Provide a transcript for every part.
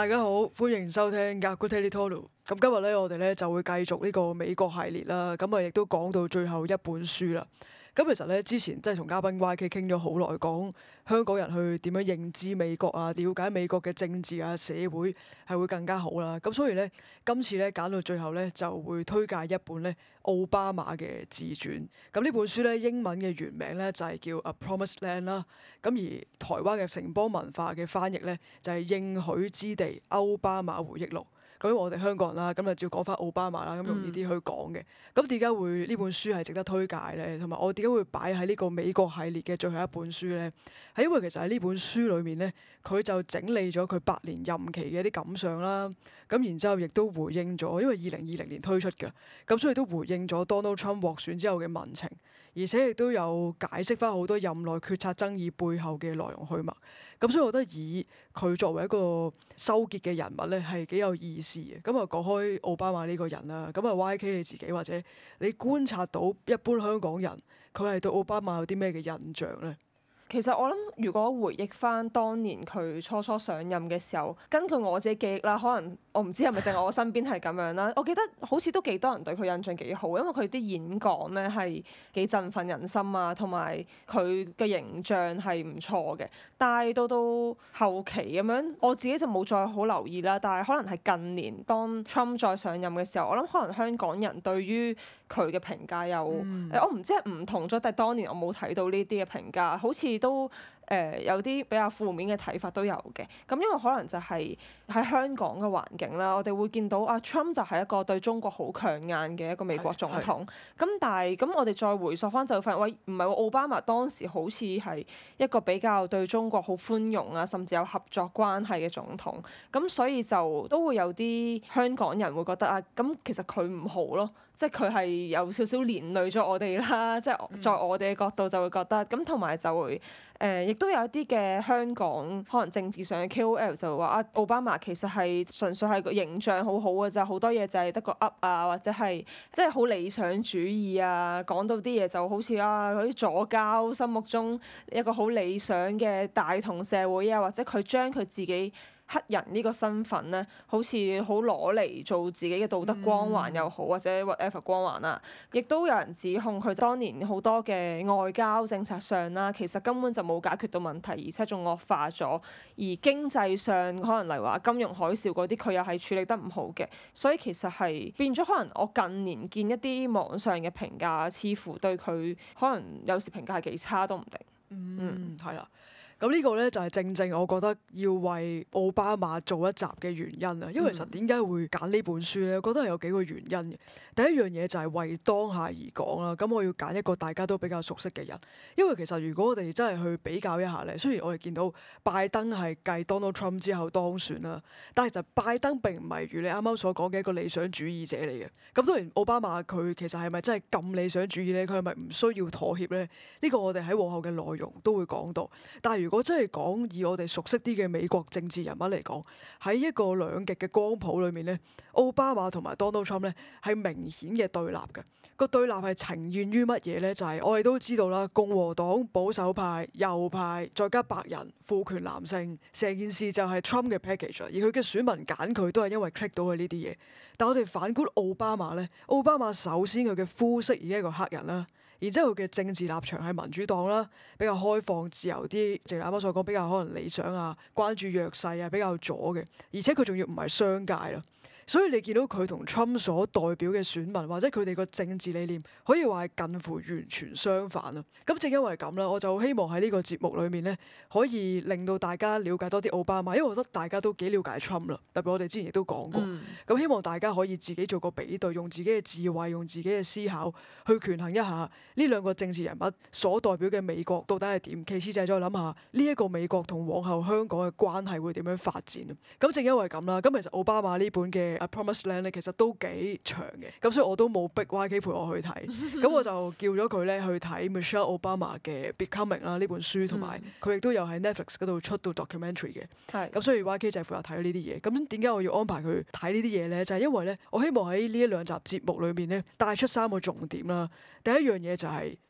大家好，歡迎收聽《Aguteri Tolu》。咁今日咧，我哋咧就會繼續呢個美國系列啦。咁啊，亦都講到最後一本書啦。咁其實咧，之前即係同嘉賓 YK 傾咗好耐，講香港人去點樣認知美國啊，了解美國嘅政治啊、社會係會更加好啦。咁所以咧，今次咧揀到最後咧，就會推介一本咧奧巴馬嘅自傳。咁呢本書咧，英文嘅原名咧就係叫《A Promised Land》啦。咁而台灣嘅城邦文化嘅翻譯咧，就係應許之地歐巴馬回憶錄。咁因為我哋香港人啦，咁就照講翻奧巴馬啦，咁容易啲去講嘅。咁點解會呢本書係值得推介咧？同埋我點解會擺喺呢個美國系列嘅最後一本書咧？係因為其實喺呢本書裏面咧，佢就整理咗佢8年任期嘅一啲感想啦。咁然之後亦都回應咗，因為2020年推出嘅，咁所以都回應咗 Donald Trump 獲選之後嘅民情，而且亦都有解釋翻好多任內決策爭議背後嘅來龍去脈。咁所以我覺得以佢作為一個收結嘅人物咧，係幾有意思嘅。咁啊講開奧巴馬呢個人啦，咁啊 YK 你自己或者你觀察到一般香港人佢係對奧巴馬有啲咩嘅印象咧？ 其實我諗，如果回憶翻當年佢初初上任嘅時候，根據我自己記憶啦，可能我唔知係咪淨係我身邊係咁樣啦。我記得好似都幾多人對佢印象幾好，因為佢啲演講咧係幾振奮人心啊，同埋佢嘅形象係唔錯嘅。但係到後期咁樣，我自己就冇再好留意啦。但係可能係近年當 Trump 再上任嘅時候，我諗可能香港人對於佢嘅評價又我唔知係唔同咗，但係當年我冇睇到呢啲嘅評價，好似都有啲比較負面嘅睇法都有嘅。咁因為可能就係喺香港嘅環境啦，我哋會見到Trump 就係一個對中國好強硬嘅一個美國總統。咁但係咁我哋再回溯翻就會發現，喂，唔係喎，奧巴馬當時好似係一個比較對中國好寬容啊，甚至有合作關係嘅總統。咁所以就都會有啲香港人會覺得咁其實佢唔好咯。即係佢係有少少連累咗我哋啦，即係在我哋嘅角度就會覺得咁，同埋就會亦都有一啲嘅香港可能政治上嘅 KOL 就會話奧巴馬其實係純粹係個形象好好嘅啫，好多嘢就係得個噏啊，或者係即係好理想主義啊，講到啲嘢就好似嗰啲左膠心目中一個好理想嘅大同社會啊，或者佢將佢自己黑人呢個身份咧，好似好攞嚟做自己嘅道德光環又好，或者 whatever 光環啦，亦都有人指控佢當年好多嘅外交政策上啦，其實根本就冇解決到問題，而且仲惡化咗。而經濟上可能例如話金融海嘯嗰啲，佢又係處理得唔好嘅，所以其實係變咗可能我近年見一啲網上嘅評價，似乎對佢可能有時評價係幾差都唔定。 係啦。咁呢個咧就係正正我覺得要為奧巴馬做一集嘅原因啊！因為其實點解會揀呢本書咧？我覺得係有幾個原因嘅。第一樣嘢就係為當下而講啦。咁我要揀一個大家都比較熟悉嘅人，因為其實如果我哋真係去比較一下咧，雖然我哋見到拜登係繼 Donald Trump 之後當選啦，但係其實拜登並唔係如你啱啱所講嘅一個理想主義者嚟嘅。咁當然奧巴馬佢其實係咪真係咁理想主義咧？佢係咪唔需要妥協咧？呢個我哋喺往後嘅內容都會講到。但係如果真係講以我哋熟悉啲嘅美國政治人物嚟講，喺一個兩極嘅光譜裏面咧，奧巴馬同埋 Donald Trump 咧係明顯嘅對立嘅。個對立係呈現於乜嘢咧？就係我哋都知道啦，共和黨保守派、右派，再加白人、父權男性，成件事就係 Trump 嘅 package。而佢嘅選民揀佢都係因為 click 到佢呢啲嘢。但我哋反觀奧巴馬咧，奧巴馬首先佢嘅膚色已經係一個黑人啦。然之後佢嘅政治立場係民主黨啦，比較開放自由啲，正如啱啱所講，比較可能理想啊，關注弱勢啊，比較左嘅，而且佢仲要唔係商界啦。所以你見到佢同 Trump 所代表嘅選民或者佢哋個政治理念，可以話係近乎完全相反啊！咁正因為咁啦，我就希望喺呢個節目裏面咧，可以令到大家了解多啲奧巴馬，因為我覺得大家都幾了解 Trump 啦。特別我哋之前亦都講過，咁希望大家可以自己做個比對，用自己嘅智慧，用自己嘅思考去權衡一下呢兩個政治人物所代表嘅美國到底係點。其次就係再諗下呢一個美國同往後香港嘅關係會點樣發展啊！咁正因為咁啦，咁其實奧巴馬呢本嘅A Promised Land 咧，其實都幾長嘅，咁所以我都冇逼 YK 陪我去睇，咁我就叫咗佢咧去睇 Michelle Obama 嘅 Becoming 啦呢本書，同埋佢亦都有喺 Netflix 嗰度出到 documentary 嘅，咁所以 YK 就係負責睇呢啲嘢。咁點解我要安排佢睇呢啲嘢咧？就係因為咧，我希望喺呢一兩集節目裏面咧帶出3個重點啦。第一樣嘢就係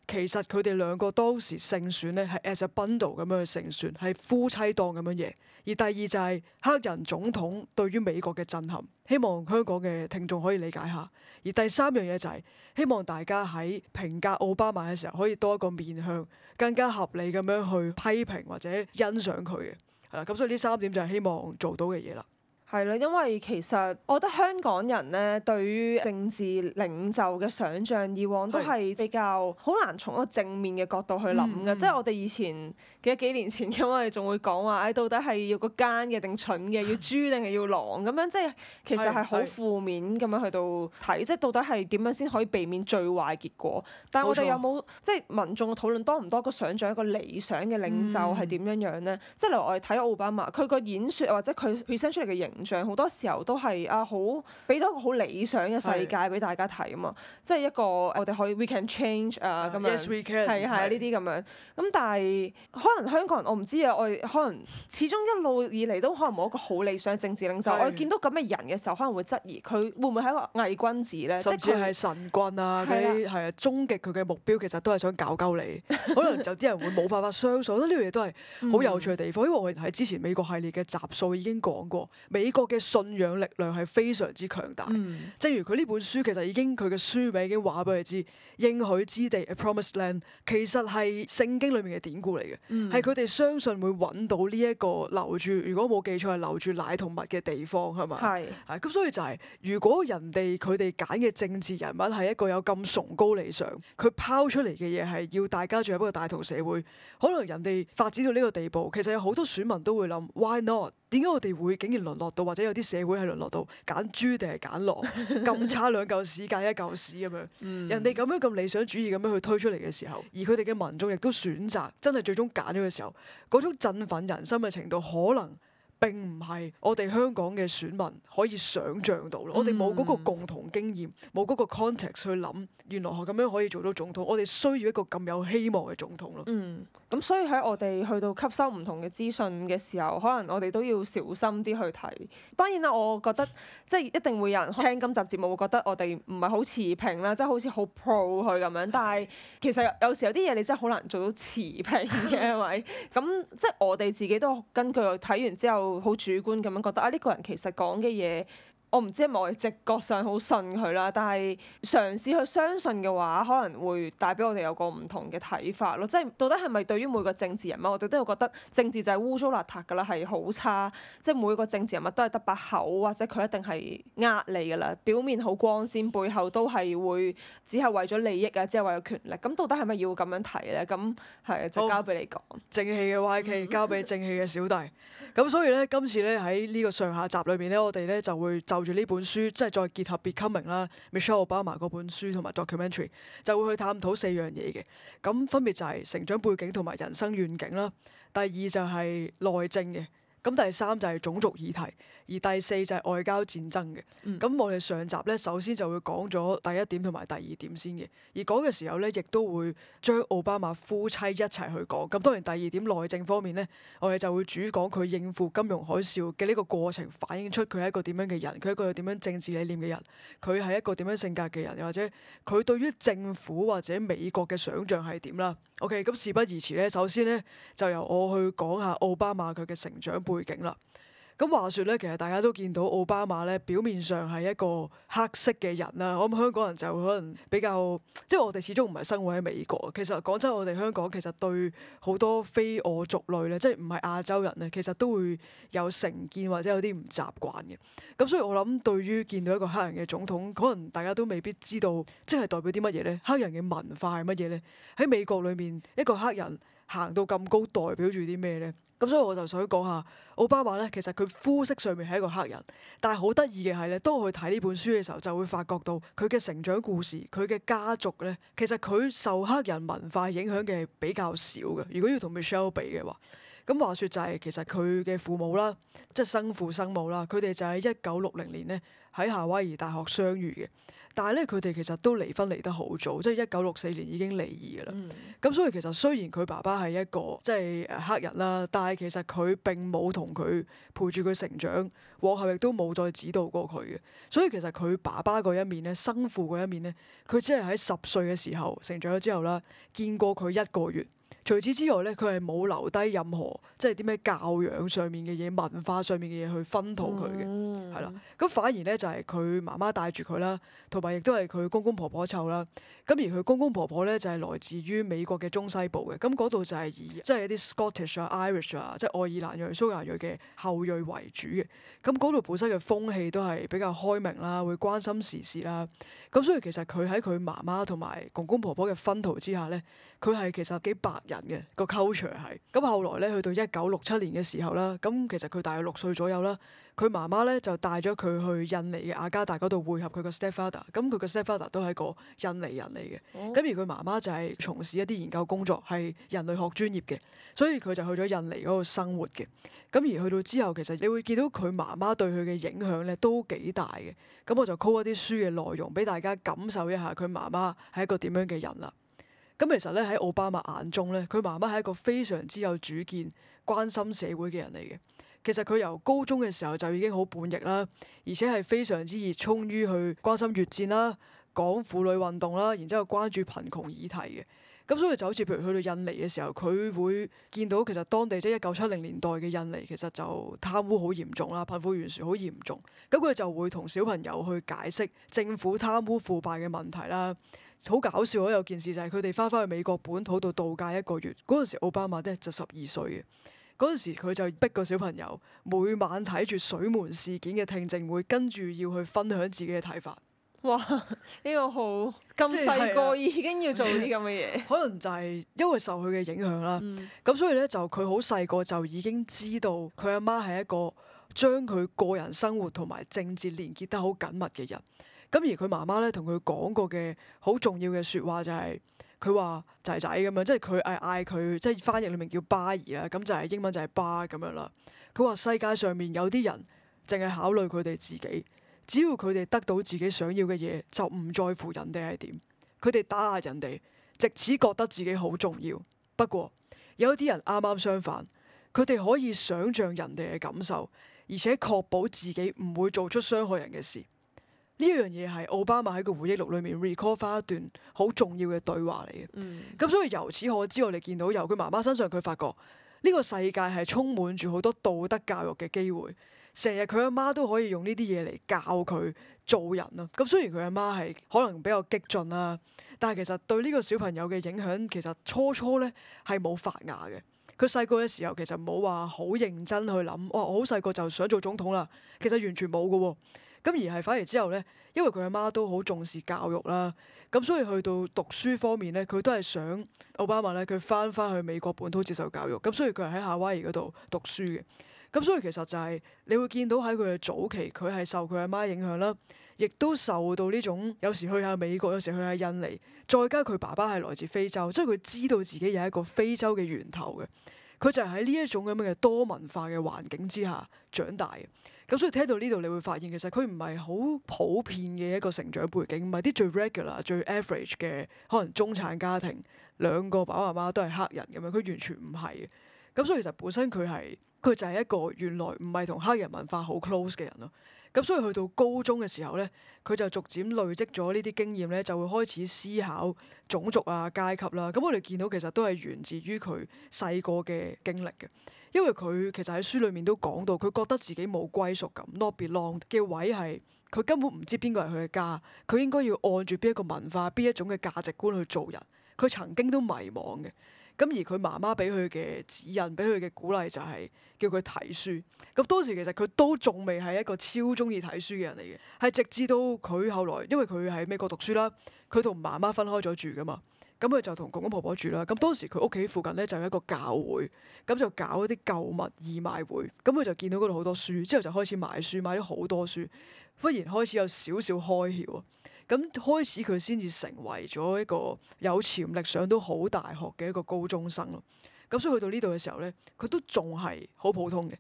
其實佢哋兩個當時勝選咧係 as a bundle 咁樣去勝選，係夫妻檔咁樣贏。而第二就係黑人總統對於美國嘅震撼，希望香港嘅聽眾可以理解下。而第三樣嘢就係希望大家喺評價奧巴馬嘅時候可以多一個面向，更加合理咁樣去批評或者欣賞佢嘅。係啦，咁所以呢三點就係希望做到嘅嘢啦。 係啦，因為其實我覺得香港人咧對於政治領袖嘅想像，以往都係比較好難從一個正面嘅角度去諗嘅。即係我哋以前幾年前咁，我哋仲會講話，到底係要個奸嘅定蠢嘅，要豬定係要狼咁樣，即係其實係好負面咁樣去到睇，即係到底係點樣先可以避免最壞結果？但係我哋有冇即係民眾嘅討論多唔多個想像一個理想嘅領袖係點樣樣咧？即係例如我哋睇奧巴馬，佢個演説或者佢 present 出嚟嘅形象，好多時候都係好俾到一個好理想嘅世界俾大家睇啊嘛，即係一個我哋可以 we can change 咁樣， Yes we can 係呢啲咁樣。咁但係可能香港人我唔知啊，我哋可能始終一路以嚟都可能冇一個好理想嘅政治領袖。我哋見到咁嘅人嘅時候，可能會質疑佢會唔會係一個偽君子咧？ 甚至係神棍啊嗰啲係啊，終極佢嘅目標其實都係想搞鳩你。可能就啲人會冇辦法相信，我覺得呢樣嘢都係好有趣嘅地方。因為我哋喺之前美國系列嘅集數已經講過，美國嘅信仰力量係非常之強大。正如佢呢本書其實已經佢嘅書名已經話俾你知，應許之地 A Promised Land 其實係聖經裏面嘅典故嚟嘅，係佢哋相信會揾到呢一個留住，如果冇記錯係留住奶同蜜嘅地方係嘛？係咁，所以就係如果人哋佢哋揀嘅政治人物係一個有咁崇高理想，佢拋出嚟嘅嘢係要大家進入一個大同社會，可能人哋發展到呢個地步，其實有好多選民都會諗 Why not？點解我哋會竟然淪落到，或者有啲社會係淪落到揀豬定係揀狼咁差兩嚿屎揀一嚿屎咁樣？人哋咁樣咁理想主義咁樣去推出嚟嘅時候，而佢哋嘅民眾亦都選擇真係最終揀咗嘅時候，嗰種振奮人心嘅程度可能並唔係我哋香港嘅選民可以想像到咯。我哋冇嗰個共同經驗，冇嗰個 context 去諗，原來咁樣可以做到總統。我哋需要一個咁有希望嘅總統咯。 咁所以喺我哋去到吸收唔同嘅資訊嘅時候，可能我哋都要小心啲去睇。當然啦，我覺得即係一定會有人聽今集節目會覺得我哋唔係好持平啦，即係好似好 pro 佢咁樣。但係其實有時有啲嘢你真係好難做到持平嘅，係咪？咁即係我哋自己都根據睇完之後好主觀咁樣覺得呢個人其實講嘅嘢。我唔知係咪我哋直覺上好信佢啦，但係嘗試去相信嘅話，可能會帶俾我哋有個唔同嘅睇法咯。即係到底係咪對於每個政治人物，我哋都會覺得政治就係污糟邋遢㗎啦，係好差。即係每個政治人物都係得把口，或者佢一定係呃你㗎啦。表面好光鮮，背後都係會只係為咗利益啊，只係為咗權力。咁到底係咪要咁樣睇咧？咁係就交俾你講。 正氣嘅 YK 交俾正氣嘅小弟。咁所以咧，今次咧喺呢個上下集裏面咧，我哋咧就會就住呢本書，即係再結合 Becoming 啦、Michelle Obama 嗰本書同埋 documentary， 就會去探討4樣嘢嘅。咁分別就係成長背景同埋人生願景啦。第二就係內政嘅。咁第三就係種族議題，而第四就係外交戰爭嘅。咁我哋上集咧，首先就會講咗第一點同埋第二點先嘅，而講嘅時候咧，亦都會將奧巴馬夫妻一齊去講。咁當然第二點內政方面咧，我哋就會主講佢應付金融海嘯嘅呢個過程，反映出佢係一個點樣嘅人，佢係一個有點樣政治理念嘅人，佢係一個點樣性格嘅人，又或者佢對於政府或者美國嘅想像係點啦。OK，咁事不宜遲咧，首先咧就由我去講下奧巴馬佢嘅成長背景啦。咁話說咧，其實大家都見到奧巴馬咧，表面上係一個黑色嘅人啦。我諗香港人就可能比較，即係我哋始終唔係生活喺美國。其實講真，我哋香港其實對好多非我族類咧，即係唔係亞洲人咧，其實都會有成見或者有啲唔習慣嘅。咁所以我諗，對於見到一個黑人嘅總統，可能大家都未必知道，即係代表啲乜嘢咧？黑人嘅文化係乜嘢咧？喺美國裏面，一個黑人行到咁高，代表住啲咩咧？咁所以我就想講下奧巴馬咧，其實佢膚色上面係一個黑人，但係好得意嘅係咧，當我去睇呢本書嘅時候，就會發覺到佢嘅成長故事，佢嘅家族咧，其實佢受黑人文化影響嘅比較少嘅。如果要同 Michelle 比嘅話，咁話說就係其實佢嘅父母啦，即係生父生母啦，佢哋就喺1960年咧喺夏威夷大學相遇嘅。 但係咧佢哋其實都離婚離得好早，即係1964年已經離異㗎啦。 嗯咁所以其實雖然佢爸爸係一個即係黑人啦，但係其實佢並冇同佢陪住佢成長，往後亦都冇再指導過佢嘅。所以其實佢爸爸嗰一面咧，生父嗰一面咧，佢只係喺10歲嘅時候成長咗之後啦，見過佢1個月。除此之外咧，佢係冇留低任何即係啲咩教養上面嘅嘢、文化上面嘅嘢去熏陶佢嘅，係啦、咁反而咧就係佢媽媽帶住佢啦，同埋亦都係佢公公婆婆湊啦。咁而佢公公婆婆咧就係來自於美國嘅中西部嘅，咁嗰度就係以即係一啲 Scottish 啊、Irish 啊，即係愛爾蘭裔、蘇格蘭裔嘅後裔為主嘅。咁嗰度本身嘅風氣都係比較開明啦，會關心時事啦。咁所以其實佢喺佢媽媽同埋公公婆婆嘅薰陶之下咧，佢係其實幾白人嘅個 culture 係。咁後來咧去到1967年嘅時候啦，咁其實佢大約6歲左右啦。佢媽媽咧就帶咗佢去印尼嘅雅加達嗰度會合佢個 stepfather，咁佢個 stepfather 都係一個印尼人嚟嘅，咁而佢媽媽就係從事一啲研究工作，係人類學專業嘅，所以佢就去咗印尼嗰度生活嘅。咁而去到之後，其實你會見到佢媽媽對佢嘅影響咧都幾大嘅。咁我就 call 一啲書嘅內容俾大家感受一下佢媽媽係一個點樣嘅人啦。咁其實咧喺奧巴馬眼中咧，佢媽媽係一個非常之有主見、關心社會嘅人嚟嘅。其實佢由高中嘅時候就已經好叛逆啦，而且係非常之熱衷於去關心越戰啦、講婦女運動啦，然之後關注貧窮議題嘅。咁所以就好似譬如去到印尼嘅時候，佢會見到其實當地即係1970年代嘅印尼其實就貪污好嚴重啦，貧富懸殊好嚴重。咁佢就會同小朋友去解釋政府貪污腐敗嘅問題啦。好搞笑，有件事就係佢哋翻返去美國本土度度假1個月，嗰陣時奧巴馬咧就12歲嘅。嗰陣時佢就逼個小朋友每晚睇住水門事件嘅聽證會，跟住要去分享自己嘅睇法。 哇！呢個好咁細個已經要做啲咁嘅嘢， 可能就係因為受佢嘅影響啦。咁所以咧就佢好細個就已經知道佢阿媽係一個將佢個人生活同埋政治連結得好緊密嘅人。咁而佢媽媽咧同佢講過嘅好重要嘅説話就係佢話仔仔咁樣，即係佢嗌佢即係翻譯裏面叫巴兒啦，咁就係英文就係巴咁樣啦。佢話世界上面有啲人淨係考慮佢哋自己，只要佢哋得到自己想要嘅嘢，就唔在乎人哋係點。佢哋打壓人哋，藉此覺得自己好重要。不過有啲人啱啱相反，佢哋可以想像人哋嘅感受，而且確保自己唔會做出傷害人嘅事。呢樣嘢係奧巴馬喺個回憶錄裏面 recall 翻一段好重要嘅對話嚟嘅。咁所以由此可知，我哋見到由佢媽媽身上，佢發覺呢個世界係充滿住好多道德教育嘅機會。成日佢阿媽都可以用呢啲嘢嚟教佢做人啊。咁雖然佢阿媽係可能比較激進啦，但係其實對呢個小朋友嘅影響，其實初咧係冇發芽嘅。佢細個嘅時候其實冇話好認真去諗，哇！我好細個就想做總統啦。其實完全冇㗎喎。咁而係反而之後咧，因為佢阿媽都好重視教育啦，咁所以去到讀書方面咧，佢都係想奧巴馬咧，佢翻去美國本土接受教育，咁所以佢係喺夏威夷嗰度讀書嘅。咁所以其實就係你會見到喺佢嘅早期，佢係受佢阿媽影響啦，亦都受到呢種有時去下美國，有時去下印尼，再加佢爸爸係來自非洲，所以佢知道自己有一個非洲嘅源頭嘅。佢就係喺呢一種咁樣嘅多文化嘅環境之下長大嘅。咁所以聽到呢度，你會發現其實佢唔係好普遍嘅一個成長背景，唔係啲最 regular、最 average 嘅可能中產家庭，兩個爸爸媽媽都係黑人咁樣，佢完全唔係嘅。咁所以其實本身佢就係一個原來唔係同黑人文化好 close 嘅人咯。咁所以去到高中嘅時候咧，佢就逐漸累積咗呢啲經驗咧，就會開始思考種族啊、階級啦。咁我哋見到其實都係源自於佢細個嘅經歷嘅。因為佢其實喺書裏面都講到，佢覺得自己冇歸屬感 not belong 嘅位係佢根本唔知邊個係佢嘅家，佢應該要按住邊一個文化、邊一種嘅價值觀去做人。佢曾經都迷茫嘅。咁而佢媽媽俾佢嘅指引、俾佢嘅鼓勵就係叫佢睇書。咁當時其實佢都仲未係一個超中意睇書嘅人嚟嘅，係直至到佢後來，因為佢喺美國讀書啦，佢同媽媽分開咗住噶嘛。咁佢就同公公婆婆住啦。咁當時佢屋企附近咧就有一個教會，咁就搞一啲購物義賣會。咁佢就見到嗰度好多書，之後就開始買書，買咗好多書。忽然開始有少少開竅啊！咁開始佢先至成為咗一個有潛力上到好大學嘅一個高中生咯。咁所以去到呢度嘅時候咧，佢都仲係好普通嘅。而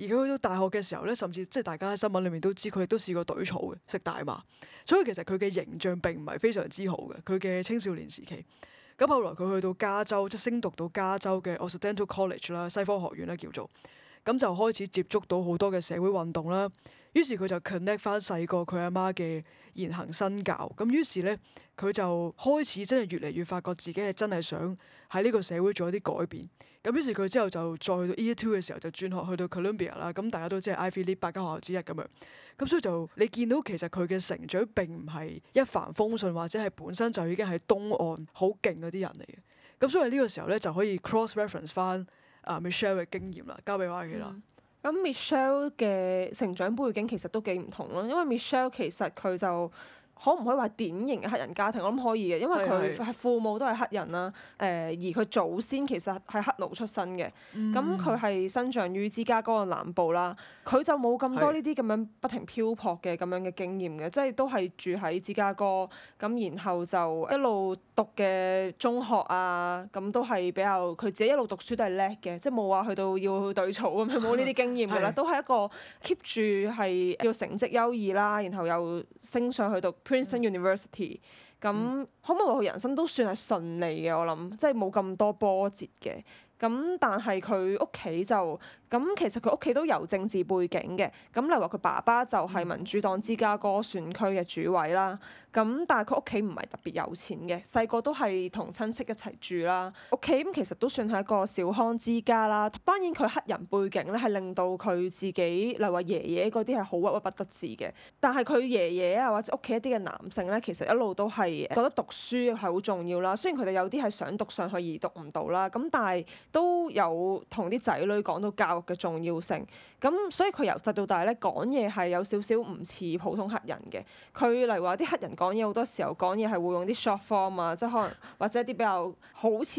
而佢去到大學嘅時候咧，甚至即係大家喺新聞裏面都知，佢亦都試過懟草嘅，食大麻。所以其實佢嘅形象並唔係非常之好嘅，佢嘅青少年時期。咁後來佢去到加州，即係升讀到加州嘅 Occidental College 啦，西方學院啦叫做，咁就開始接觸到好多嘅社會運動啦。於是佢就 connect 翻細個佢阿媽嘅言行身教，咁於是咧佢就開始真係越嚟越發覺自己係真係想喺呢個社會做一啲改變。咁於是佢之後就再去到 Year 2嘅時候就轉學去到 Columbia 啦，咁大家都知係 Ivy League 8間學校之一咁樣。咁所以就你見到其實佢嘅成長並唔係一帆風順，或者係本身就已經係東岸好勁嗰啲人嚟嘅。咁所以呢個時候咧就可以 cross reference 翻Michelle 嘅經驗啦，交俾 Y.K. 啦。 咁 Michelle 嘅成長背景其實都幾唔同咯，因為 Michelle 其實佢就可唔可以話典型嘅黑人家庭？我諗可以嘅，因為佢係父母都係黑人啦。而佢祖先其實係黑奴出身嘅。咁佢係生長於芝加哥嘅南部啦。佢就冇咁多呢啲咁樣不停漂泊嘅咁樣嘅經驗嘅，即係都係住喺芝加哥。咁然後就一路讀嘅中學啊，咁都係比較佢自己一路讀書都係叻嘅，即係冇話去到要對草咁樣，冇呢啲經驗㗎啦，都係一個 keep 住係叫成績優異啦，然後又升上去讀Princeton University。咁可唔可以話佢人生都算係順利嘅？我諗即係冇咁多波折嘅。咁但係佢屋企就咁，其實佢屋企都有政治背景嘅。咁例如話佢爸爸就係民主黨芝加哥選區嘅主委啦。咁但係佢屋企唔係特別有錢嘅，細個都係同親戚一齊住啦。屋企咁其實都算係一個小康之家啦。當然佢黑人背景咧係令到佢自己，例如話爺爺嗰啲係好鬱鬱不得志嘅。但係佢爺爺啊或者屋企一啲嘅男性咧，其實一路都係覺得讀書係好重要啦。雖然佢哋有啲係想讀上去而讀唔到啦，咁但係都有同啲仔女講到教育嘅重要性。咁所以佢由細到大咧講嘢係有少少唔似普通黑人嘅。佢例如話啲黑人講嘢好多時候講嘢係會用啲 short form 啊，即係可能或者一啲比較好似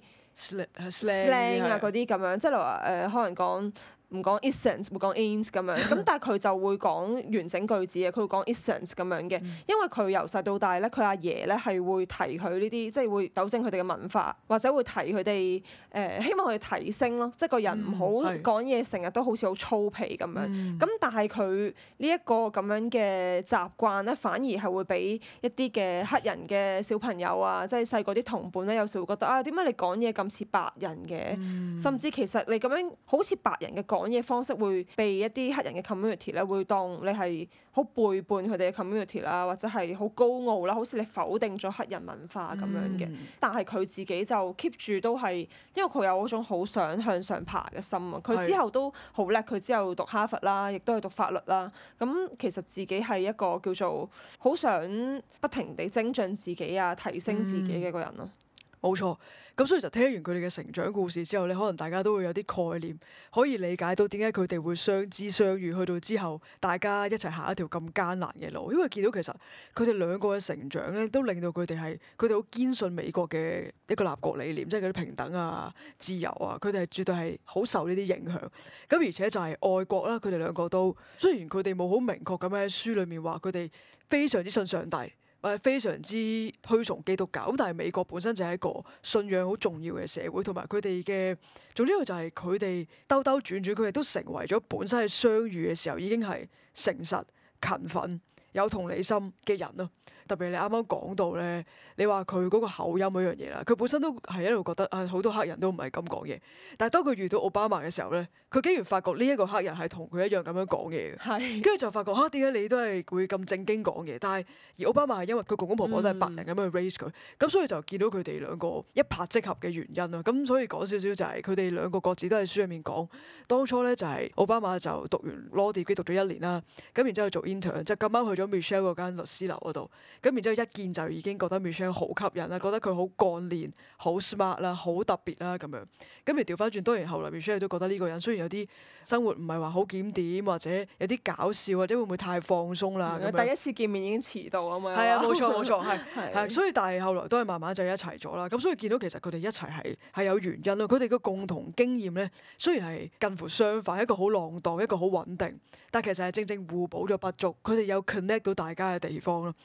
slang 啊嗰啲咁樣，即係例如話可能講唔講 isn't 會講 ain't 咁樣，咁但係佢就會講完整句子嘅，佢會講 isn't 咁樣嘅，因為佢由細到大咧，佢阿爺咧係會提佢呢啲，即係會糾正佢哋嘅文化，或者會提佢哋希望佢哋提升咯，即係個人唔好講嘢成日都好似好粗鄙咁樣。咁但係佢呢一個咁樣嘅習慣咧，反而係會俾一啲嘅黑人嘅小朋友啊，即係細個啲同伴咧，有時會覺得啊，點解你講嘢咁似白人嘅？甚至其實你咁樣好似白人嘅講嘢方式會被一啲黑人嘅 community 咧，會當你係好背叛佢哋嘅 community 啦，或者係好高傲啦，好似你否定咗黑人文化咁樣嘅。但係佢自己就 keep 住都係，因為佢有嗰種好想向上爬嘅心啊。佢之後都好叻，佢之後讀哈佛啦，亦都係讀法律啦。咁其實自己係一個叫做好想不停地精進自己啊，提升自己嘅一個人咯。 冇錯，咁所以就聽完佢哋嘅成長故事之後咧，可能大家都會有啲概念，可以理解到點解佢哋會相知相遇，去到之後大家一齊行一條咁艱難嘅路。因為見到其實佢哋兩個嘅成長咧，都令到佢哋好堅信美國嘅一個立國理念，即係嗰啲平等啊、自由啊，佢哋係絕對係好受呢啲影響。咁而且就係愛國啦，佢哋兩個都雖然佢哋冇好明確咁喺書裡面話佢哋非常之信上帝，或者非常之推崇基督教，咁但係美國本身就係一個信仰好重要嘅社會，同埋佢哋嘅總之就係佢哋兜兜轉轉，佢哋都成為咗本身喺相遇嘅時候已經係誠實、勤奮、有同理心嘅人咯。特別你啱啱講到咧，你話佢嗰個口音嗰樣嘢啦，佢本身都係一路覺得啊，好多黑人都唔係咁講嘢，但係當佢遇到奧巴馬嘅時候咧，佢竟然發覺呢一個黑人係同佢一樣咁樣講嘢嘅，跟住就發覺嚇點解你都係會咁正經講嘢，但係而奧巴馬係因為佢公公婆婆都係白人咁樣去 raise 佢，咁所以就見到佢哋兩個一拍即合嘅原因咯。咁所以講少少就係佢哋兩個各自都喺書入面講，當初咧就係奧巴馬就讀完 law degree 讀咗1年啦，咁然之後做 intern，就咁啱去咗 Michelle 嗰間律師樓嗰度。咁然之後一見就已經覺得 Michelle 好吸引啦，覺得佢好幹練、好 smart 啦、好特別啦咁樣。咁而調翻轉，當然後來 Michelle 都覺得呢個人雖然有啲生活唔係話好檢點，或者有啲搞笑，或者會唔會太放鬆啦咁樣。 第一次見面已經遲到啊嘛。 係啊，冇錯，係。所以但係後來都係慢慢就一齊咗啦。咁所以見到其實佢哋一齊係有原因咯。佢哋嘅共同經驗咧，雖然係近乎相反，一個好浪蕩，一個好穩定，但其實係正正互補咗不足。佢哋有 connect 到大家嘅地方咯。咁所以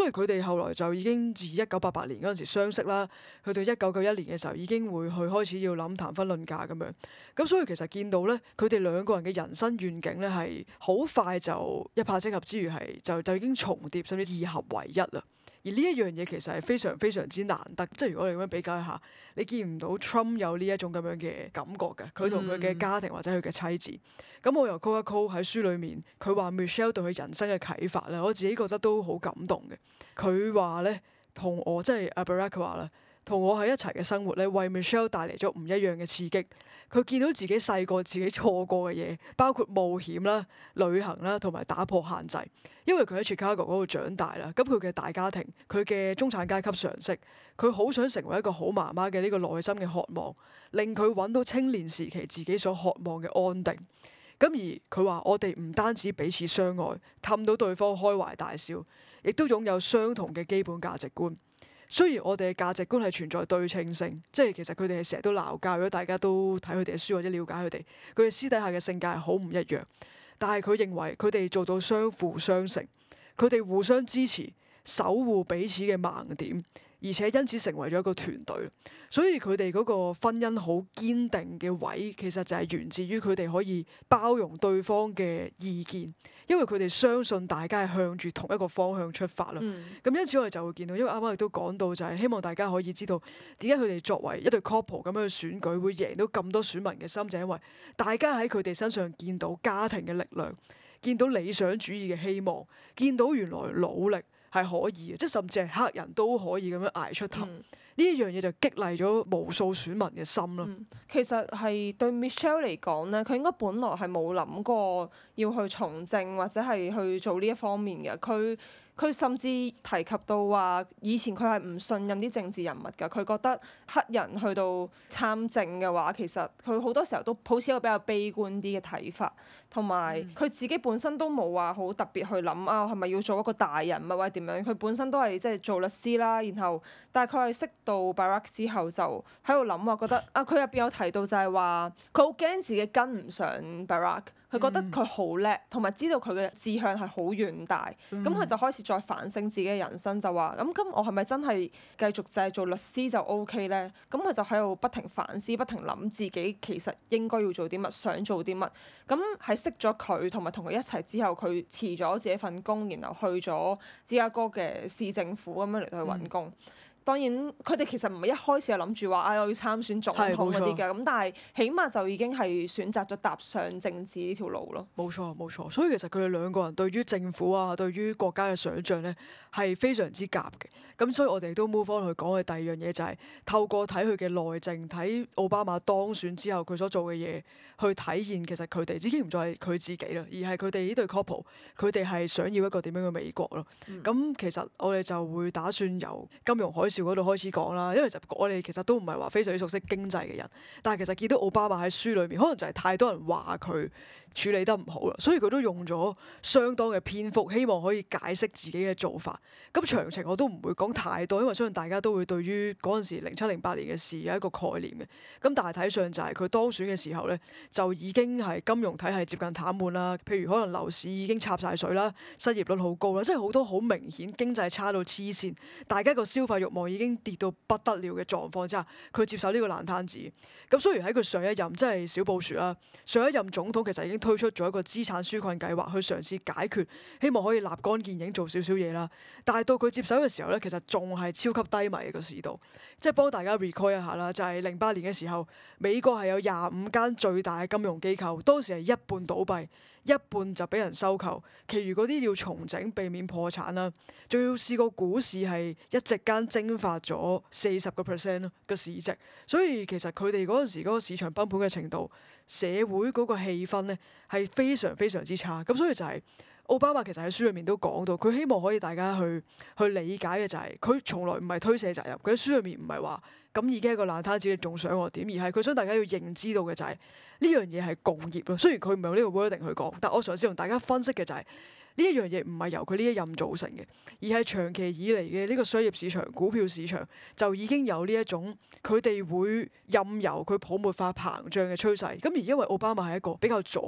所以佢哋後來就已經自1988年嗰陣時相識啦，去到1991年嘅時候已經會去開始要諗談婚論嫁咁樣。咁所以其實見到咧，佢哋兩個人嘅人生願景咧係好快就一拍即合之餘係就已經重疊，甚至二合為一啦。而呢一樣嘢其實係非常非常之難得，即係如果你咁樣比較一下，你見唔到 Trump 有呢一種咁樣嘅感覺嘅，佢同佢嘅家庭或者佢嘅妻子。咁我由 Cole 一 Cole 喺書裡面，佢話 Michelle 對佢人生嘅啟發咧，我自己覺得都好感動嘅。佢話咧，同我即係阿 Barack 話啦，同我喺一齊嘅生活咧，為 Michelle 帶嚟咗唔一樣嘅刺激。佢見到自己細個自己錯過嘅嘢，包括冒險啦、旅行啦，同埋打破限制。因為佢喺 Chicago 嗰度長大啦，咁佢嘅大家庭，佢嘅中產階級常識，佢好想成為一個好媽媽嘅呢個內心嘅渴望，令佢揾到青年時期自己所渴望嘅安定。咁而佢話：我哋唔單止彼此相愛，氹到對方開懷大笑，亦都擁有相同嘅基本價值觀。雖然我哋嘅價值觀係存在對稱性，即係其實佢哋係成日都鬧交。如果大家都睇佢哋嘅書或者了解佢哋，佢哋私底下嘅性格係好唔一樣。但係佢認為佢哋做到相輔相成，佢哋互相支持，守護彼此嘅盲點，而且因此成為咗一個團隊。所以佢哋嗰個婚姻好堅定嘅位，其實就係源自於佢哋可以包容對方嘅意見，因為佢哋相信大家係向住同一個方向出發啦。咁因此我哋就會見到，因為啱啱亦都講到，就係希望大家可以知道點解佢哋作為一對 couple 咁樣嘅選舉會贏到咁多選民嘅心，就係因為大家喺佢哋身上見到家庭嘅力量，見到理想主義嘅希望，見到原來努力係可以嘅，即係甚至係黑人都可以咁樣捱出頭。呢一樣嘢就激勵咗無數選民嘅心啦。 其實係對 Michelle 嚟講咧，佢應該本來係冇諗過要去從政或者係去做呢一方面嘅。佢甚至提及到話，以前佢係唔信任啲政治人物㗎。佢覺得黑人去到參政嘅話，其實佢好多時候都抱持一個比較悲觀啲嘅睇法，同埋佢自己本身都冇話好特別去諗啊，係咪要做一個大人物或者點樣？佢本身都係即係做律師啦，然後但係佢係識到 Barack 之後就喺度諗話，覺得啊，佢入邊有提到就係話，佢好驚自己跟唔上 Barack。佢覺得佢好叻，同埋知道佢嘅志向係好遠大，咁佢就開始再反省自己嘅人生，就話咁我係咪真係繼續就係做律師就 OK 咧？咁佢就喺度不停反思，不停諗自己其實應該要做啲乜，想做啲乜。咁係識咗佢，同埋同佢一齊之後，佢辭咗自己份工，然後去咗芝加哥嘅市政府咁樣嚟到去揾工。當然，佢哋其實唔係一開始就諗住話，我要參選總統嗰啲嘅，咁但係起碼就已經係選擇咗踏上政治呢條路咯。 冇錯冇錯，所以其實佢哋兩個人對於政府啊，對於國家嘅想像咧係非常之夾嘅。咁所以我哋都 move on 去講嘅第二樣嘢就係透過睇佢嘅內政，睇奧巴馬當選之後佢所做嘅嘢，去體現其實佢哋已經唔再係佢自己啦，而係佢哋呢對 couple，佢哋係想要一個點樣嘅美國咯。咁其實我哋就會打算由金融海嘯嗰度開始講啦，因為我哋其實都唔係話非常之熟悉經濟嘅人，但係其實見到奧巴馬喺書裏面，可能就係太多人話佢處理得唔好啦，所以佢都用咗相當嘅篇幅，希望可以解釋自己嘅做法。咁詳情我都唔會講太多，因為相信大家都會對於嗰陣時07、08年嘅事有一個概念嘅。咁大體上就係佢當選嘅時候咧，就已經係金融體系接近癱瘓啦。譬如可能樓市已經插晒水啦，失業率好高啦，即係好多好明顯經濟差到黐線，大家個消費慾望已經跌到不得了嘅狀況之下，佢接受呢個爛攤子。咁雖然喺佢上一任即係小布殊啦，上一任總統其實已經推出咗一個資產紓困計劃去嘗試解決，希望可以立竿見影做少少嘢啦。但係到佢接手嘅時候咧，其實仲係超級低迷嘅個市道。即係幫大家 recall 一下啦，就係08年嘅時候，美國係有25間最大嘅金融機構，當時係一半倒閉，一半就俾人收購，其餘嗰啲要重整避免破產啦。仲要試過股市係一夕間蒸發咗40% 咯個市值，所以其實佢哋嗰陣時嗰個市場崩盤嘅程度，社會嗰個氣氛咧係非常非常之差。咁所以就係奧巴馬其實喺書裏面都講到，佢希望可以大家去理解嘅就係，佢從來唔係推卸責任。佢喺書裏面唔係話咁已經係一個爛攤子，你仲想我點？而係佢想大家要認知到嘅就係呢樣嘢係共業咯。雖然佢唔係用呢個 wording 去講，但我嘗試同大家分析嘅就係呢一樣嘢唔係由佢呢一任造成嘅，而係長期以嚟嘅呢個商業市場、股票市場就已經有呢一種佢哋會任由佢泡沫化膨脹嘅趨勢。咁而因為奧巴馬係一個比較左、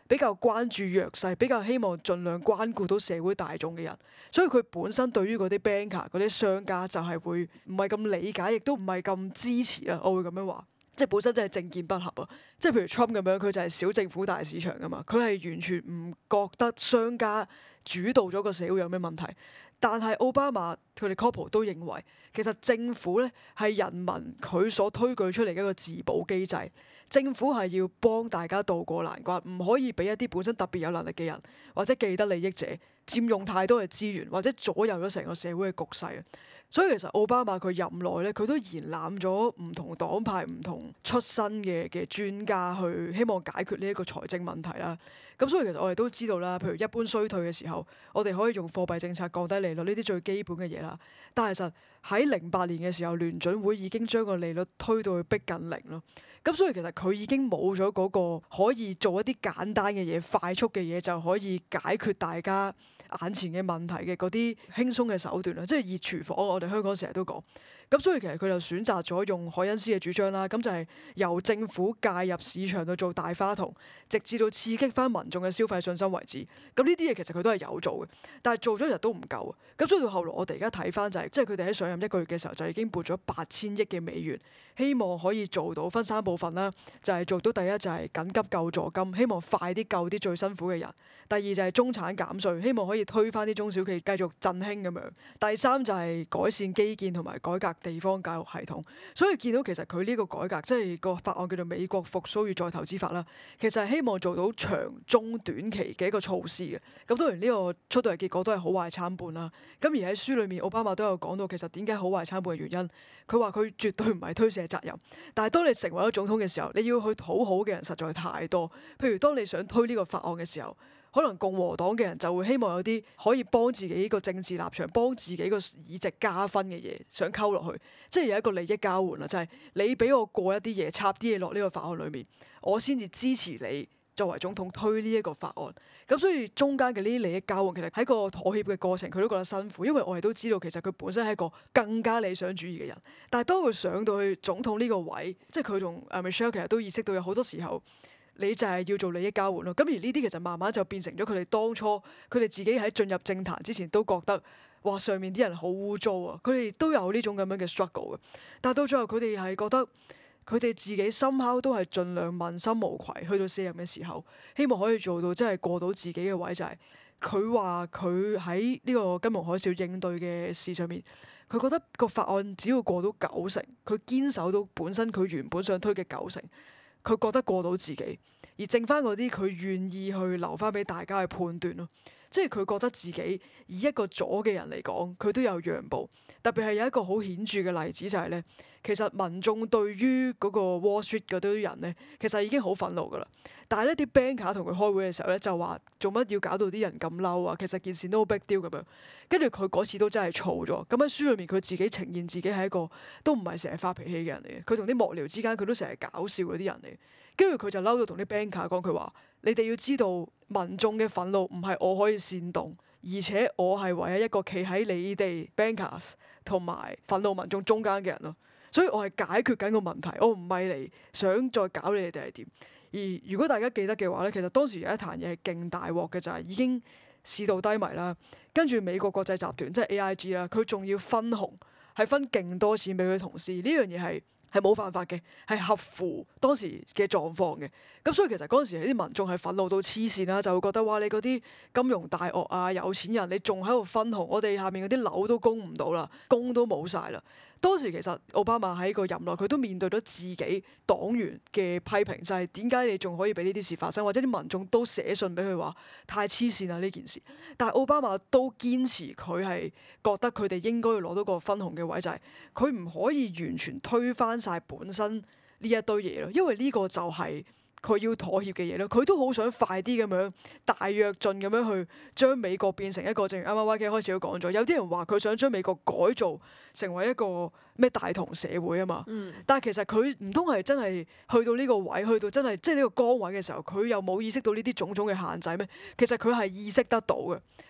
比較關注弱勢，比較希望盡量關顧到社會大眾嘅人，所以佢本身對於嗰啲 banker 嗰啲商家就係會唔係咁理解，亦都唔係咁支持啦。我會咁樣話，即係本身真係政見不合啊！即係譬如 Trump 咁樣，佢就係小政府大市場噶嘛，佢係完全唔覺得商家主導咗個社會有咩問題。但係奧巴馬佢哋 couple 都認為，其實政府咧係人民佢所推舉出嚟嘅一個自保機制。政府係要幫大家渡過難關，唔可以俾一啲本身特別有能力嘅人或者既得利益者佔用太多嘅資源，或者左右咗成個社會嘅局勢啊。所以其實奧巴馬佢任內咧，佢都延攬咗唔同黨派、唔同出身嘅專家去希望解決呢一個財政問題啦。咁所以其實我哋都知道啦，譬如一般衰退嘅時候，我哋可以用貨幣政策降低利率呢啲最基本嘅嘢啦。但係其實喺08年嘅時候，聯準會已經將個利率推到去逼近零咯。咁所以其實佢已經冇咗嗰個可以做一啲簡單嘅嘢、快速嘅嘢就可以解決大家眼前嘅問題嘅嗰啲輕鬆嘅手段啦，即係熱廚房，我哋香港成日都講。咁所以其實佢就選擇咗用凱恩斯嘅主張啦，咁就係由政府介入市場度做大花筒，直至到刺激翻民眾嘅消費信心為止。咁呢啲嘢其實佢都係有做嘅，但係做咗一日都唔夠啊。咁所以到後來我哋而家睇翻就係，即係佢哋喺上任1個月嘅時候就已經撥咗8000億嘅美元，希望可以做到分3部分啦，就係做到第一就係緊急救助金，希望快啲救啲最辛苦嘅人；第二就係中產減稅，希望可以推翻啲中小企繼續振興咁樣；第三就係改善基建同埋改革地方教育系統。所以見到其實佢呢個改革，即係個法案叫做《美國復甦與再投資法》啦，其實係希望做到長中短期嘅一個措施嘅。咁當然呢個出到嚟結果都係好壞參半啦。咁而喺書裏面，奧巴馬都有講到其實點解好壞參半嘅原因。佢話佢絕對唔係推卸責任，但係當你成為咗總統嘅時候，你要去討好嘅人實在太多。譬如當你想推呢個法案嘅時候，可能共和黨嘅人就會希望有啲可以幫自己呢個政治立場、幫自己個議席加分嘅嘢，想溝落去，即係有一個利益交換啦，就係你俾我過一啲嘢，插啲嘢落呢個法案裏面，我先至支持你作為總統推呢一個法案。咁所以中間嘅呢啲利益交換，其實喺個妥協嘅過程，佢都覺得辛苦，因為我哋都知道其實佢本身係一個更加理想主義嘅人，但係當佢上到去總統呢個位，即係佢同Michelle 其實都意識到有好多時候，你就係要做利益交換咯。咁而呢啲其實慢慢就變成咗佢哋當初佢哋自己喺進入政壇之前都覺得，哇上面啲人好污糟啊！佢哋都有呢種咁樣嘅 struggle 嘅，但係到最後佢哋係覺得佢哋自己somehow都係盡量問心無愧，去到卸任嘅時候，希望可以做到即係過到自己嘅位，就係佢話佢喺呢個金融海嘯應對嘅事上面，佢覺得個法案只要過到90成，佢堅守到本身佢原本想推嘅90成。佢覺得過到自己，而剩翻嗰啲佢願意去留翻俾大家去判斷咯。即係佢覺得自己以一個左嘅人嚟講，佢都有讓步。特別係有一個好顯著嘅例子就係咧，其實民眾對於嗰個 Wall Street 嗰堆人咧，其實已經好憤怒噶啦。但係呢啲 banker 同佢開會嘅時候咧，就話做乜要搞到啲人咁嬲啊？其實件事都好 big deal 咁樣。跟住佢嗰次都真係嘈咗。咁喺書裏面佢自己呈現自己係一個都唔係成日發脾氣嘅人嚟嘅。佢同啲幕僚之間佢都成日搞笑嗰啲人嚟。跟住佢就嬲到同啲 banker 講，佢話：你哋要知道民眾嘅憤怒唔係我可以煽動，而且我係唯一一個企喺你哋 bankers 同埋憤怒民眾中間嘅人咯。所以我係解決緊個問題，我唔係嚟想再搞你哋定係點。而如果大家記得嘅話咧，其實當時有一壇嘢係勁大鑊嘅，就係已經市道低迷啦。跟住美國國際集團即係 AIG 啦，佢仲要分紅，係分勁多錢俾佢同事。呢樣嘢係冇犯法嘅，係合乎當時嘅狀況嘅。咁所以其實嗰陣時啲民眾係憤怒到黐線啦，就會覺得哇！你嗰啲金融大鱷啊、有錢人，你仲喺度分紅，我哋下面嗰啲樓都供唔到啦，工都冇晒啦。當時其實奧巴馬喺個任內，佢都面對咗自己黨員嘅批評，就係點解你仲可以俾呢啲事發生，或者啲民眾都寫信俾佢話太黐線啦呢件事。但係奧巴馬都堅持佢係覺得佢哋應該要攞到個分紅嘅位，就係佢唔可以完全推翻晒本身呢一堆嘢咯，因為呢個就係佢要妥協嘅嘢咯。佢都好想快啲咁樣大躍進咁樣去將美國變成一個，正如啱啱 YK 開始都講咗，有啲人話佢想將美國改造成為一個咩大同社會啊嘛。但係其實佢唔通係真係去到呢個位，去到真係即係呢個崗位嘅時候，佢又冇意識到呢啲種種嘅限制咩？其實佢係意識得到嘅。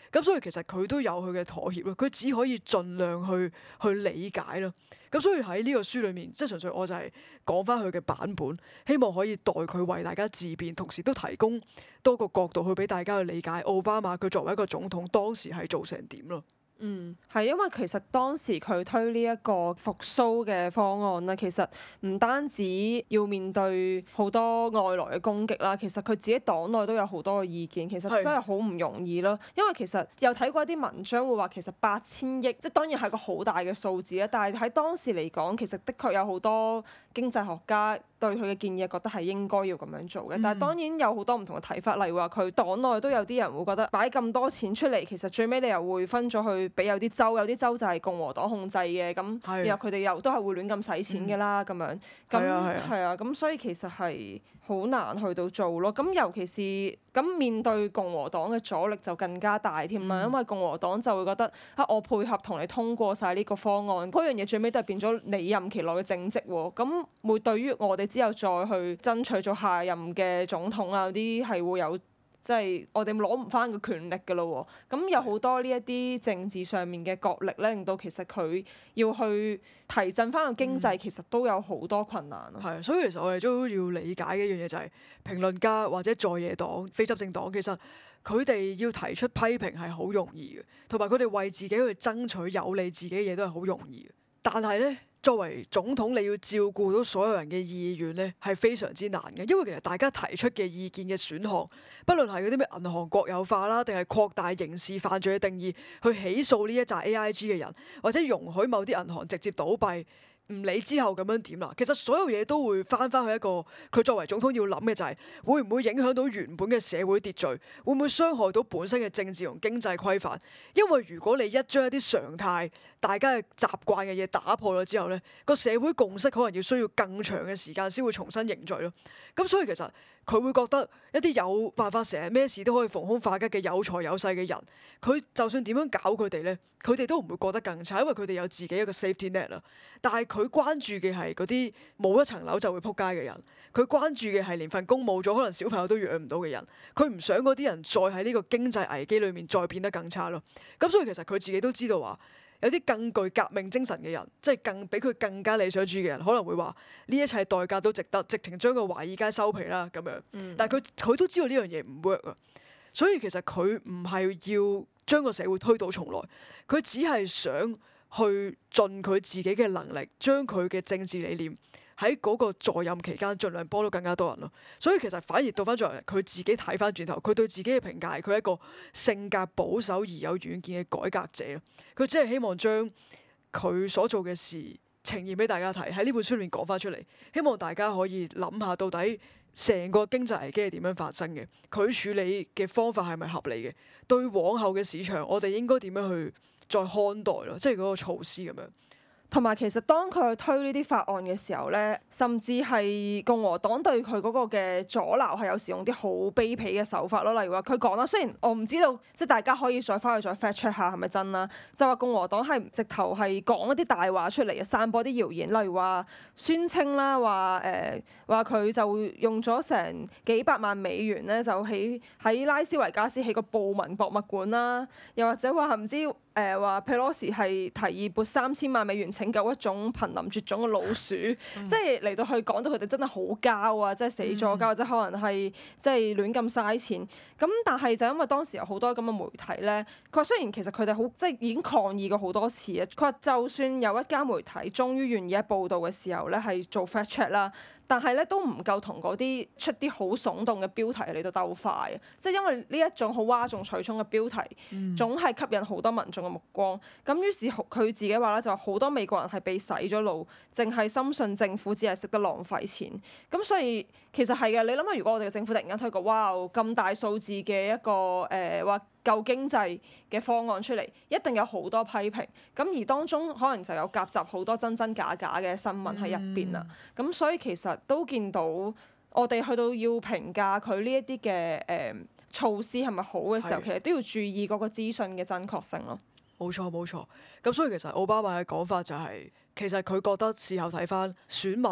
咁所以其實佢都有佢嘅妥協咯，佢只可以盡量去理解咯。咁所以喺呢個書裏面，即係純粹我就係講翻佢嘅版本，希望可以代佢為大家自辯，同時都提供多個角度去俾大家去理解奧巴馬佢作為一個總統當時係做成點咯。 係因為其實當時佢推呢一個復甦嘅方案咧，其實唔單止要面對好多外來嘅攻擊啦，其實佢自己黨內都有好多嘅意見，其實真係好唔容易咯。因為其實有睇過一啲文章會話，其實8000億，即係當然係個好大嘅數字啦，但係喺當時嚟講，其實的確有好多經濟學家對佢嘅建議覺得係應該要咁樣做嘅。但係當然有好多唔同嘅睇法，例如話佢黨內都有啲人會覺得擺咁多錢出嚟，其實最尾你又會分咗去俾有啲州，有啲州就係共和黨控制嘅，咁然後佢哋又都係會亂咁使錢嘅啦，咁樣咁所以其實係好難去到做咯。咁尤其是咁面對共和黨嘅阻力就更加大添啦，因為共和黨就會覺得我配合同你通過晒呢個方案，嗰樣嘢最尾都係變咗你任期內嘅政績喎。咁會對於我哋之後再去爭取做下任嘅總統啊，嗰啲係會有。即係我哋攞唔翻個權力㗎咯喎，咁有好多呢一啲政治上面嘅角力咧，令到其實佢要去提振翻個經濟，其實都有好多困難咯。 係，所以其實我哋都要理解嘅一樣嘢就係評論家或者在野黨、非執政黨，其實佢哋要提出批評係好容易嘅，同埋佢哋為自己去爭取有利自己嘅嘢都係好容易嘅。但係咧，作為總統，你要照顧到所有人嘅意願咧，係非常之難嘅。因為其實大家提出嘅意見嘅選項，不論係嗰啲咩銀行國有化啦，定係擴大刑事犯罪嘅定義，去起訴呢一紮 AIG 嘅人，或者容許某啲銀行直接倒閉。唔理之後咁樣點啦，其實所有嘢都會翻返去一個佢作為總統要諗嘅就係會唔會影響到原本嘅社會秩序，會唔會傷害到本身嘅政治同經濟規範？因為如果你一將一啲常態、大家嘅習慣嘅嘢打破咗之後咧，個社會共識可能要需要更長嘅時間先會重新凝聚咯。咁所以其實佢會覺得一啲有辦法成日咩事都可以逢凶化吉嘅有財有勢嘅人，佢就算點樣搞佢哋咧，佢哋都唔會過得更差，因為佢哋有自己一個 safety net 啦。但係佢關注嘅係嗰啲冇一層樓就會撲街嘅人，佢關注嘅係連份工冇咗，可能小朋友都養唔到嘅人，佢唔想嗰啲人再喺呢個經濟危機裏面再變得更差咯。咁所以其實佢自己都知道話，有啲更具革命精神嘅人，即係更比佢更加理想主義嘅人，可能會話呢一切代價都值得，直情將個華爾街收皮啦咁樣。但係佢都知道呢樣嘢唔 work 啊，所以其實佢唔係要將個社會推倒重來，佢只係想去盡佢自己嘅能力，將佢嘅政治理念喺嗰個在任期間盡量幫到更加多人咯。所以其實反而倒翻轉嚟，佢自己睇翻轉頭，佢對自己嘅評價係佢係一個性格保守而有遠見嘅改革者咯。佢只係希望將佢所做嘅事呈現俾大家睇，喺呢本書裏面講翻出嚟，希望大家可以諗下到底成個經濟危機係點樣發生嘅，佢處理嘅方法係咪合理嘅，對往後嘅市場我哋應該點樣去再看待咯，即係嗰個措施咁樣。 同埋其實當佢去推呢啲法案嘅時候咧，甚至係共和黨對佢嗰個嘅阻撓係有時用啲好卑鄙嘅手法咯。例如話佢講啦，雖然我唔知道，即係大家可以再翻去再 fact check 下係咪真啦，就話共和黨係直頭係講一啲大話出嚟嘅，散播啲謠言，例如話宣稱啦，話佢就用咗成幾百萬美元咧，就喺拉斯維加斯起個暴民博物館啦，又或者話唔知話 Pelosi 係提議撥3000萬美元拯救一種瀕臨絕種嘅老鼠，即係嚟到去講到佢哋真係好膠啊，即係死咗膠，或者可能係即係亂咁嘥錢。咁但係就因為當時有好多咁嘅媒體咧，佢話雖然其實佢哋好即係已經抗議過好多次啊，佢話就算有一間媒體終於願意喺報導嘅時候咧係做 fact check 啦。但係咧都唔夠同嗰啲出啲好聳動嘅標題嚟到鬥快啊！即係因為呢一種好嘩眾取寵嘅標題，總係吸引好多民眾嘅目光。咁於是佢自己話咧，就話好多美國人係被洗咗腦，淨係深信政府只係識得浪費錢。咁所以其實係嘅，你諗下，如果我哋嘅政府突然間推個哇咁大數字嘅一個話救經濟嘅方案出嚟，一定有好多批評。咁而當中可能就有夾雜好多真真假假嘅新聞喺入邊啦。咁所以其實都見到我哋去到要評價佢呢一啲嘅措施係咪好嘅時候，其實都要注意嗰個資訊嘅真確性咯。 冇錯冇錯。咁所以其實奧巴馬嘅講法就係，其實佢覺得事後睇翻選民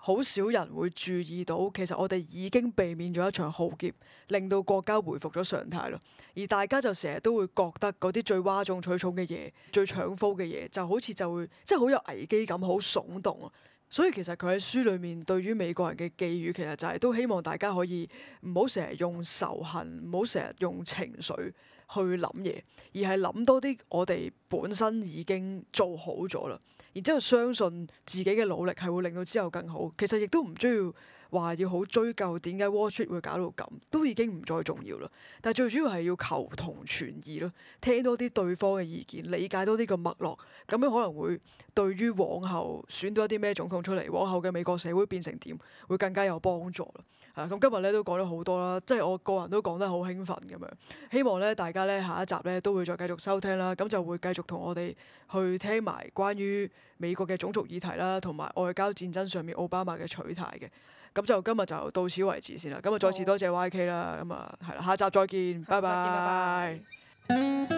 好少人會注意到，其實我哋已經避免咗一場浩劫，令到國家回復咗常態咯。而大家就成日都會覺得嗰啲最嘩眾取寵嘅嘢、最搶風嘅嘢，就好似就會即係好有危機感、好聳動啊。所以其實佢喺書裏面對於美國人嘅寄語，其實就係都希望大家可以唔好成日用仇恨，唔好成日用情緒去諗嘢，而係諗多啲我哋本身已經做好咗啦。然之後相信自己嘅努力係會令到之後更好。其實亦都唔需要話要好追究點解 Wall Street 會搞到咁，都已經唔再重要啦。但係最主要係要求同存異咯，聽多啲對方嘅意見，理解多啲個脈絡，咁樣可能會對於往後選到一啲咩總統出嚟，往後嘅美國社會變成點，會更加有幫助啦。咁今日咧都講咗好多啦，即係我個人都講得好興奮咁樣，希望咧大家咧下一集咧都會再繼續收聽啦，咁就會繼續同我哋去聽埋關於美國嘅種族議題啦，同埋外交戰爭上面奧巴馬嘅取態嘅，咁就今日就到此為止先啦，咁啊再次多謝 YK 啦，咁啊係啦，下集再見，拜拜拜。 拜。